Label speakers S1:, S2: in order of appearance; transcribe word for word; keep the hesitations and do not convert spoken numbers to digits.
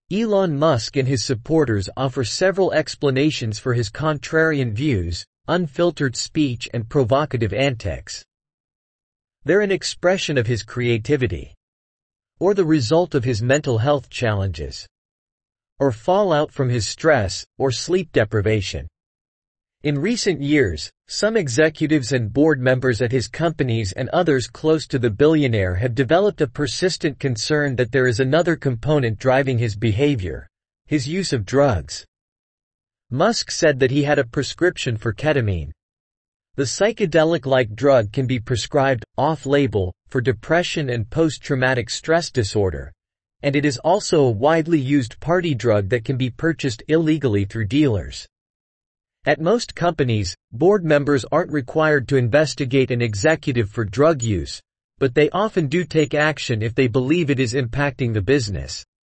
S1: Elon Musk and his supporters offer several explanations for his contrarian views, unfiltered speech and provocative antics. They're an expression of his creativity, or the result of his mental health challenges, or fallout from his stress or sleep deprivation. In recent years, some executives and board members at his companies and others close to the billionaire have developed a persistent concern that there is another component driving his behavior: his use of drugs. Musk said that he had a prescription for ketamine. The psychedelic-like drug can be prescribed, off-label, for depression and post-traumatic stress disorder, and it is also a widely used party drug that can be purchased illegally through dealers. At most companies, board members aren't required to investigate an executive for drug use, but they often do take action if they believe it is impacting the business.